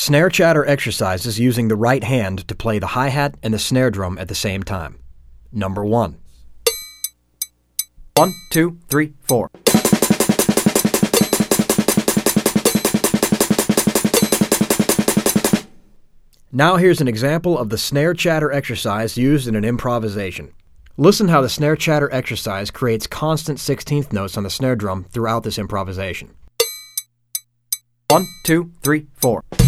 Snare chatter exercises using the right hand to play the hi-hat and the snare drum at the same time. Number 1. 1, 2, 3, 4. Now here's an example of the snare chatter exercise used in an improvisation. Listen how the snare chatter exercise creates constant 16th notes on the snare drum throughout this improvisation. 1, 2, 3, 4.